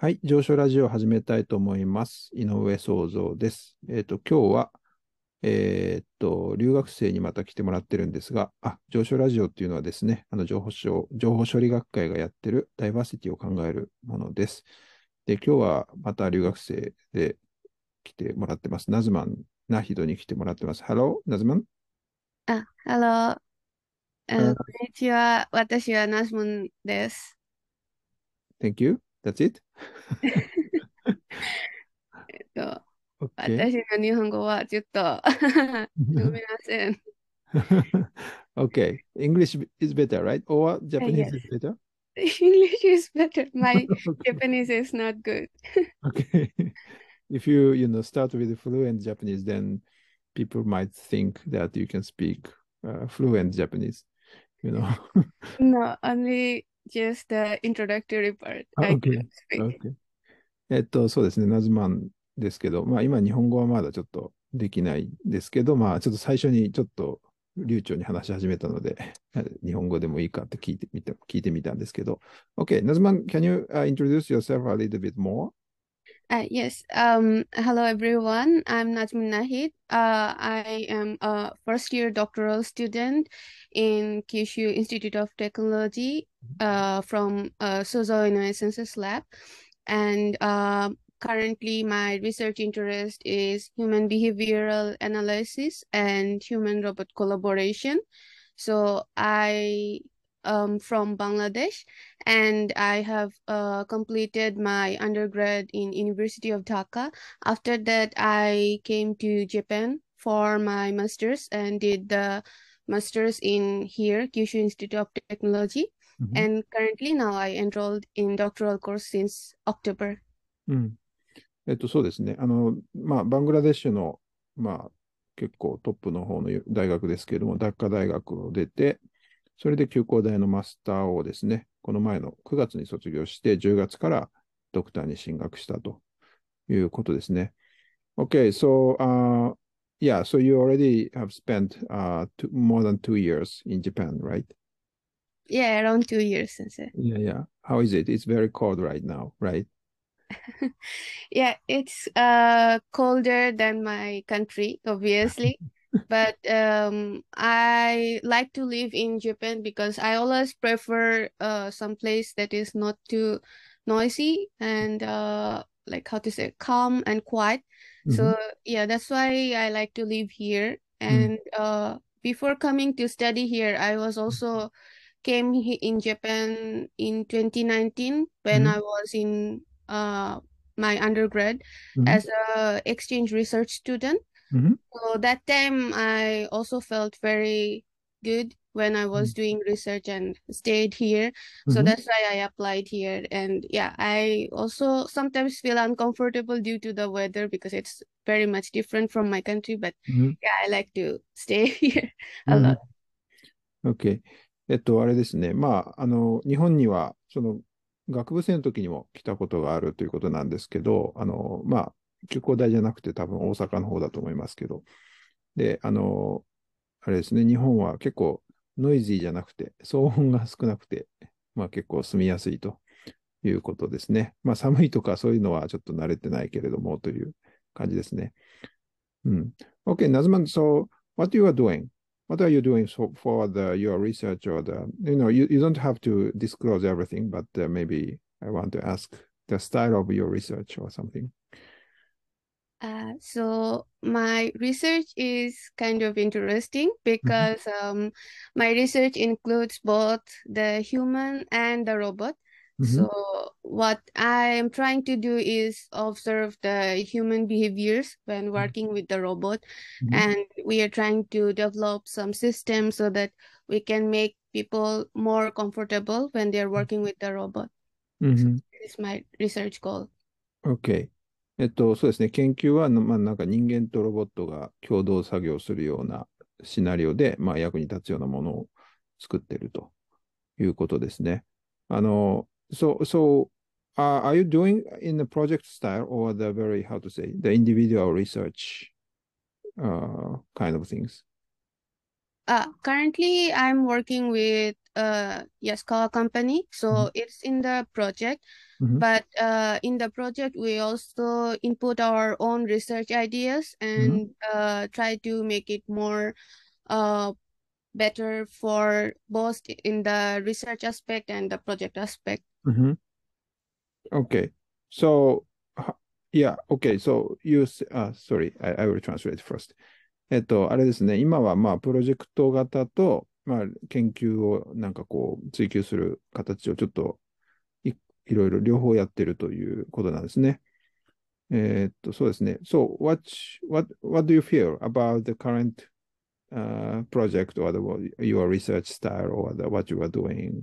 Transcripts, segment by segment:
はい、上昇ラジオを始めたいと思います。井上創造です。今日は、留学生にまた来てもらってるんですが、上昇ラジオっていうのはですね、情報処理学会がやってるダイバーシティを考えるものです。で、今日はまた留学生で来てもらってます。ナズマン・ナヒドに来てもらってます。Hello, ナズマン。 ハロー。こん Uh, にちは。私はナズムンです。 Thank you. That's it. と OK. 私の日本語はちょっとすみません。 OK. English is better, right? Or Japanese Yes. is better? English is better. My Okay. Japanese is not good. Okay. If start with fluent Japanese, then people might think that you can speak fluent Japanese, you know. No, only just the introductory part. I OK。 cannot speak. OK。そうですね、ナズマンですけど、まあ今日本語はまだちょっとできないですけど、まあちょっと最初にちょっと流暢に話し始めたので、日本語でもいいかって聞いてみたんですけど。OK、ナズマン、can you introduce yourself a little bit more? Yes. Hello everyone. I'm Najmun Nahid. I am a first year doctoral student in Kyushu Institute of Technology from Sozo Innovations Lab. And currently my research interest is human behavioral analysis and human robot collaboration. So I from Bangladesh, and I have completed my undergrad in University of Dhaka. After that, I came to Japan for my master's and did the master's in here, Kyushu Institute of Technology. うん And currently now I enrolled in doctoral course since October. うん。そうですね。まあ、バングラデシュの、まあ、結構トップの方の大学ですけれども、ダッカ大学を出て、それで休校大のマスターをですね、この前の9月に卒業して、10月からドクターに進学したということですね。Okay, so, yeah, so you already have spent more than 2 years in Japan, right? Yeah, around 2 years since. Yeah, yeah. How is it? It's very cold right now, right? Yeah, it's colder than my country, obviously. But I like to live in Japan because I always prefer some place that is not too noisy and like how to say calm and quiet. Mm-hmm. So yeah, that's why I like to live here. Mm-hmm. And before coming to study here, I was also in Japan in 2019 when I was in my undergrad Mm-hmm. as a exchange research student. Mm-hmm. So that time I also felt very good when I was doing research and stayed here. So Mm-hmm. that's why I applied here. And yeah, I also sometimes feel uncomfortable due to the weather because it's very much different from my country. But Mm-hmm. yeah, I like to stay here a lot. Mm-hmm. OK。あれですね。まあ、日本には、学部生の時にも来たことがあるということなんですけど、まあ、休校大じゃなくて多分大阪の方だと思いますけど、で、あれですね、日本は結構ノイズーじゃなくて、騒音が少なくて、まあ結構住みやすいということですね。まあ寒いとかそういうのはちょっと慣れてないけれどもという感じですね。うん。Okay, Nazman, so what you are doing? What are you doing for your research or you don't have to disclose everything, but maybe I want to ask the style of your research or something. So my research is kind of interesting Mhm. because my research includes both the human and the robot. Mhm. So what I am trying to do is observe the human behaviors when working with the robot, Mhm. and we are trying to develop some systems so that we can make people more comfortable when they are working with the robot. So Mhm. this is my research goal. OK。そうですね。研究は、まあ、なんか人間とロボットが共同作業するようなシナリオで、まあ、役に立つようなものを作っているということですね。are you doing in the project style or the very, how to say, the individual research kind of things? Currently, I'm working with Yaskawa company, Mhm. so it's in the project. Mhm. But in the project, we also input our own research ideas Mhm. and try to make it more uh, better for both in the research aspect and the project aspect. Mhm. Okay. So, yeah, okay. So, sorry, I will translate first.あれですね、今はまあプロジェクト型と、まあ、研究をなんかこう追求する形をちょっといろいろ両方やってるということなんですね。そうですね。So, what do you feel about the current project or your research style or what you are doing?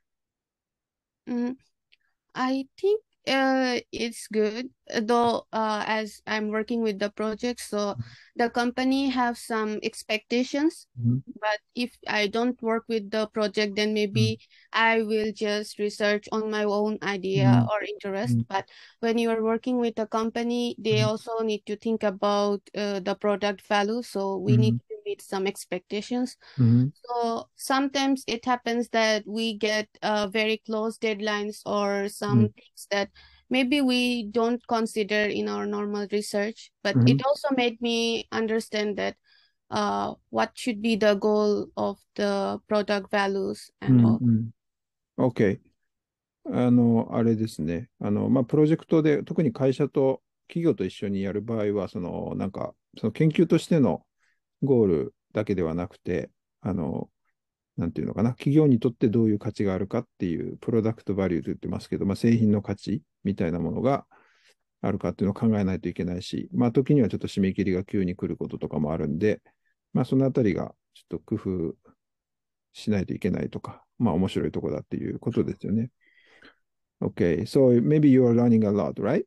Mm, I think it's good, though, as I'm working with the project, so the company have some expectations. Mhm. But if I don't work with the project, then Mhm. maybe I will just research on my own idea Mhm. or interest. Mhm. But when you are working with a company, they Mhm. also need to think about the product value. So we need Mhm. to meet some expectations. Mhm. So sometimes it happens that we get very close deadlines or some Mhm. things that maybe we don't consider in our normal research. But it Mhm. also made me understand that what should be the goal of the product values う and ん。 all. うん。OK。あれですね。まあ、プロジェクトで、特に会社と企業と一緒にやる場合は、なんか、その研究としてのゴールだけではなくて、あの、なんていうのかな、企業にとってどういう価値があるかっていう、プロダクトバリューと言ってますけど、まあ、製品の価値みたいなものがあるかっていうのを考えないといけないし、まあ、時にはちょっと締め切りが急に来ることとかもあるんで、まあ、そのあたりがちょっと工夫しないといけないとか、まあ、面白いところだっていうことですよね。Okay, so maybe you are learning a lot, right?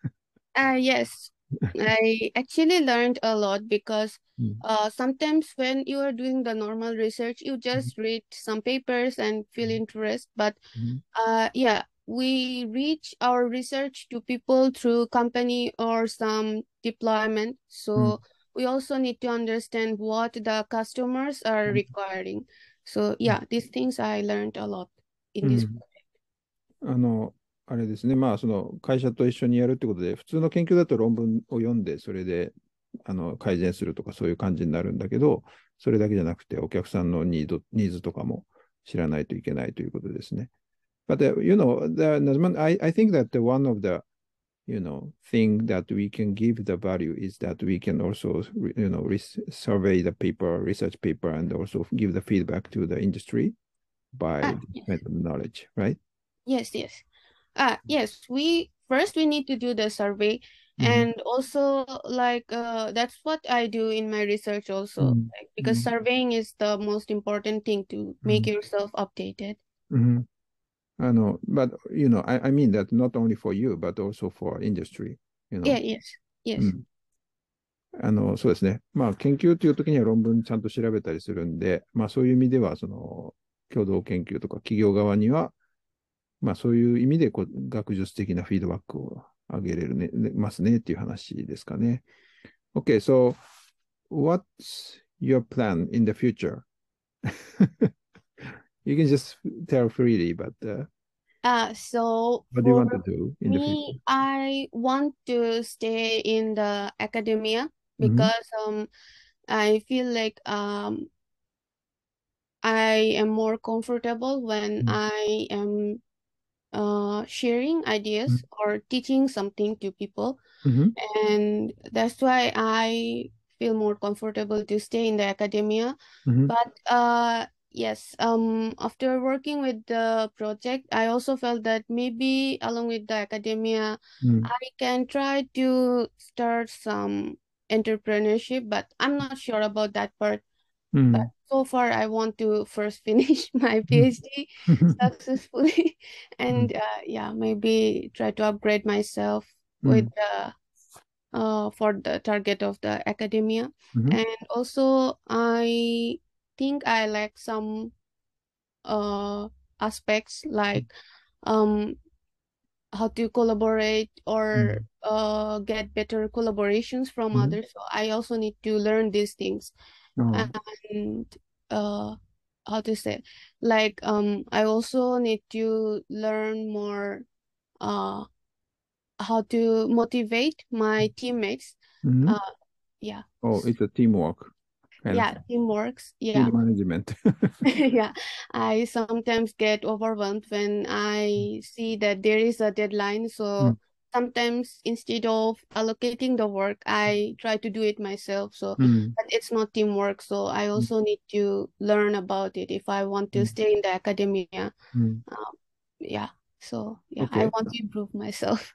Yes, I actually learned a lot because うん。 sometimes when you are doing the normal research, you just read some papers and feel interest. But yeah, we reach our research to people through company or some deployment. うん。 So we also need to understand what the customers are requiring. So うん。 yeah, these things I learned a lot in う this. ん。あの、あれですね。まあ、その会社と一緒にやるってことで、普通の研究だと論文を読んで、それで改善するとかそういう感じになるんだけど、それだけじゃなくて、お客さんのニーズとかも知らないといけないということですね。But Nazman, I think that one of the thing that we can give the value is that we can also, survey the paper, research paper, and also give the feedback to the industry by this Yes, kind of knowledge, right? yes, yes. Yes, we need to do the survey, Mm-hmm. and also like that's what I do in my research also, like, because Mm-hmm. surveying is the most important thing to make yourself updated. Mm-hmm. But I mean that not only for you, but also for industry, you Yeah, know. yes, yes. うん。そうですね。まあ、研究という時には論文ちゃんと調べたりするんで、まあ、そういう意味では、共同研究とか企業側には、まあ、そういう意味で学術的なフィードバックをあげれるますねっていう話ですかね。Okay, so what's your plan in the future? You can just tell freely, but So what do you for want to do in the future? me, I want to stay in the academia Mm-hmm. because I feel like I am more comfortable when I am sharing ideas or teaching something to people, Mm-hmm. and that's why I feel more comfortable to stay in the academia. Mm-hmm. But yes, after working with the project, I also felt that maybe along with the academia, Mm-hmm. I can try to start some entrepreneurship, but I'm not sure about that part. But Mm-hmm. so far, I want to first finish my PhD successfully, and yeah, maybe try to upgrade myself with Mm-hmm. the for the target of the academia. Mm-hmm. And also, I think I like some uh aspects like um how to collaborate or get better collaborations from Mm-hmm. others. So I also need to learn these things. Oh. And how to say, like I also need to learn more uh how to motivate my teammates. Hmm. Uh, yeah. Oh, it's a teamwork kind of Yeah, teamworks. team Yeah. management. Yeah, I sometimes get overwhelmed when I see that there is a deadline. Mm, So sometimes instead of allocating the work, I try to do it myself. So, mm, but it's not teamwork. So I mm, also need to learn about it if I want to mm, stay in the academia. mm. Um, yeah. So yeah, I Okay. want to improve myself.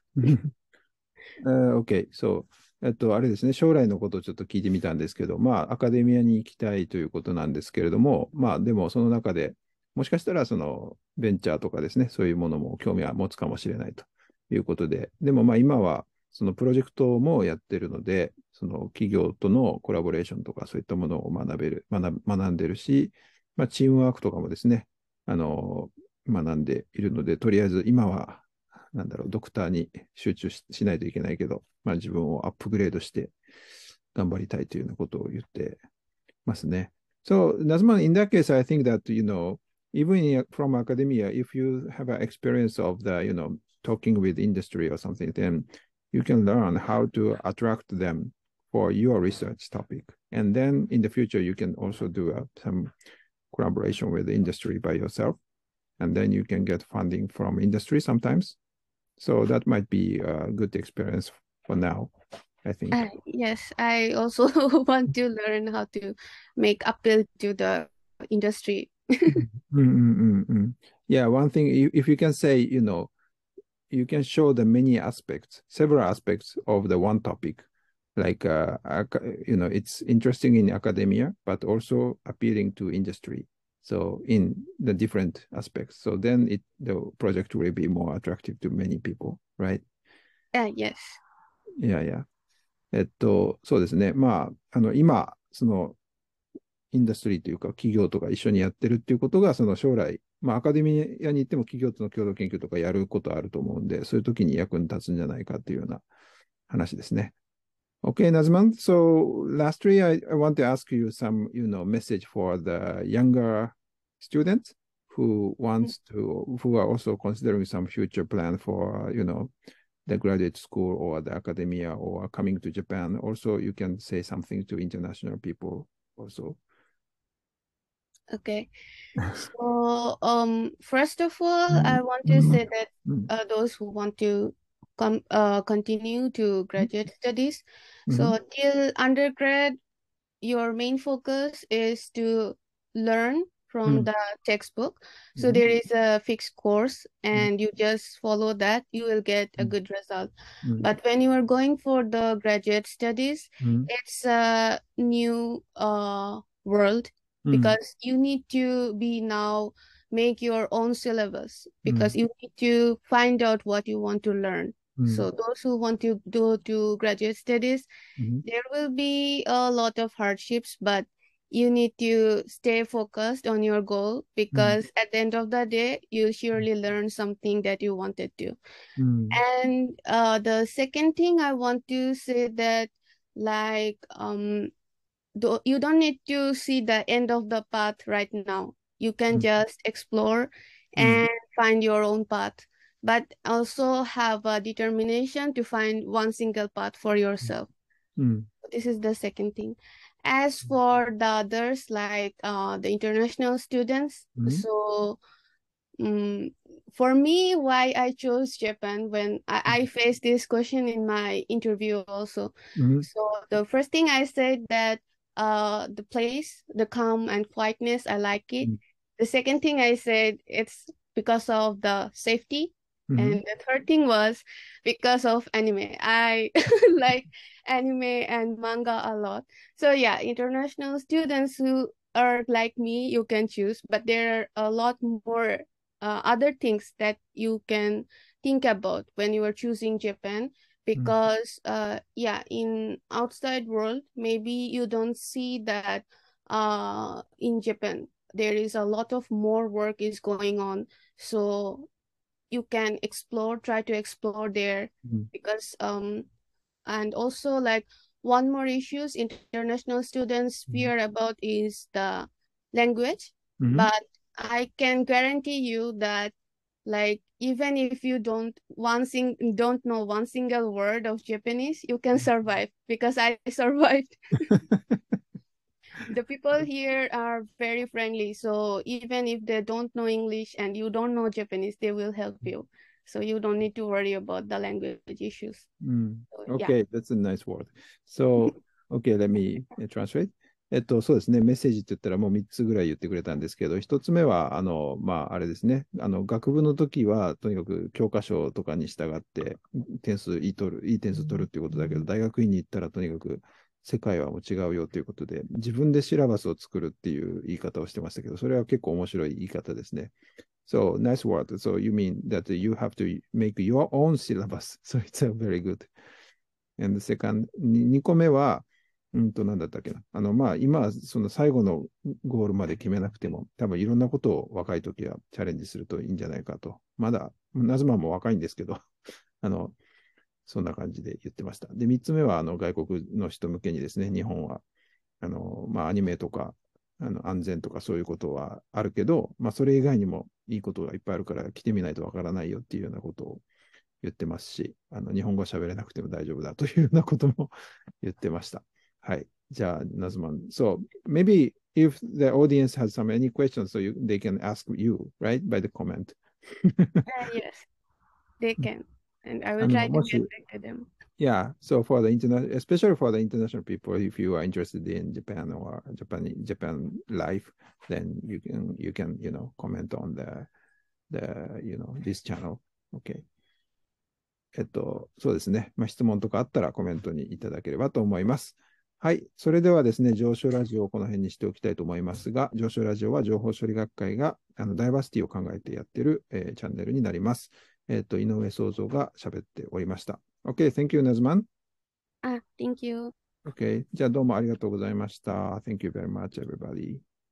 OK。そう。あれですね、将来のことをちょっと聞いてみたんですけど、まあ、アカデミアに行きたいということなんですけれども、まあ、でもその中でもしかしたら、ベンチャーとかですね、そういうものも興味は持つかもしれないということで、でもまあ、今は、そのプロジェクトもやってるので、その企業とのコラボレーションとかそういったものを学んでるし、まあ、チームワークとかもですね、あの、学んでいるので、とりあえず今は、なんだろう、ドクターに集中しないといけないけど、まあ自分をアップグレードして頑張りたいというようなことを言ってますね。So, Nazman, in that case, I think that, even from academia, if you have an experience of talking with industry or something, then you can learn how to attract them for your research topic. And then in the future, you can also do some collaboration with the industry by yourself. And then you can get funding from industry sometimes. So that might be a good experience for now, I think. Yes, I also want to learn how to make appeal to the industry. Yeah, one thing, if you can say, you can show the many aspects, several aspects of the one topic. Like, it's interesting in academia, but also appealing to industry. So in the different aspects. So then the project will be more attractive to many people, right? Yes. Yeah, yeah. そうですね。まあ、今、インダストリーというか企業とか一緒にやってるっていうことが、その将来、まあアカデミアに行っても企業との共同研究とかやることあると思うんで、そういう時に役に立つんじゃないかっていうような話ですね。Okay, Nazman. So lastly, I want to ask you some, message for the younger students who are also considering some future plan for, the graduate school or the academia or coming to Japan. Also, you can say something to international people also. Okay. So, first of all, I want to Mm, say that mm, those who want to continue to graduate studies, mhm, so till undergrad, your main focus is to learn from mm, the textbook. So mhm, there is a fixed course, mm, and you just follow that, you will get a mm, good result. mm, But when you are going for the graduate studies, mm, it's a new world mm, because you need to be now make your own syllabus because mm, you need to find out what you want to learn. mm, So those who want to go to graduate studies, mhm, there will be a lot of hardships, but you need to stay focused on your goal mm, because at the end of the day, you surely learn something that you wanted to. mm, And the second thing I want to say that like you don't need to see the end of the path right now. You can mm, just explore mm, and find your own path, but also have a determination to find one single path for yourself. mm, This is the second thing. As for the others, like the international students, mm, so um, for me, why I chose Japan when I faced this question in my interview also. mm, So the first thing I said that the place, the calm and quietness, I like it. mm, The second thing I said it's because of the safety. mhm, And the third thing was because of anime. I like anime and manga a lot. So yeah, international students who are like me, you can choose, but there are a lot more other things that you can think about when you are choosing Japan mm, because yeah, in outside world maybe you don't see that in Japan there is a lot of more work is going on, so you can explore, try to explore there mm, because and also like one more issues international students mm, fear about is the language, Mhm. but I can guarantee you that like even if you don't know one single word of Japanese, you can survive because I survived. The people here are very friendly, so even if they don't know English and you don't know Japanese, they will help you. So you don't need to worry about the language issues. So, yeah. Okay, that's a nice word. So, okay, let me translate. そうですね、メッセージって言ったらもう3つぐらい言ってくれたんですけど、1つ目は、あれですね、学部の時は、とにかく教科書とかに従っていい点数取るっていうことだけど、大学院に行ったらとにかく世界はもう違うよということで、自分でシラバスを作るっていう言い方をしてましたけど、それは結構面白い言い方ですね。So, nice word. So, you mean that you have to make your own syllabus. So, it's a very good. And the second, 2個目は、なんだったっけな。今はその最後のゴールまで決めなくても、多分いろんなことを若い時はチャレンジするといいんじゃないかと。まだ、ナズマンも若いんですけど、あの、そんな感じで言ってました。で、3つ目は、外国の人向けにですね、日本は、アニメとか、安全とかそういうことはあるけど、それ以外にもいいことがいっぱいあるから来てみないとわからないよっていうようなことを言ってますし、日本語喋れなくても大丈夫だというようなことも言ってました。はい。じゃあ、ナズマン。So, maybe if the audience has any questions, so they can ask you, right, by the comment. Yes, they can. And I will try to も get し、 back to them. Yeah, so for the international, especially for the international people, if you are interested in Japan or Japan life, then you can comment on this channel. Okay. そうですね。質問とかあったらコメントにいただければと思います。はい。それではですね、上昇ラジオをこの辺にしておきたいと思いますが、上昇ラジオは情報処理学会がダイバーシティを考えてやっている、チャンネルになります。井上創造が喋っておりました。OK, thank you, Nazman. Thank you. OK, じゃあどうもありがとうございました。Thank you very much, everybody.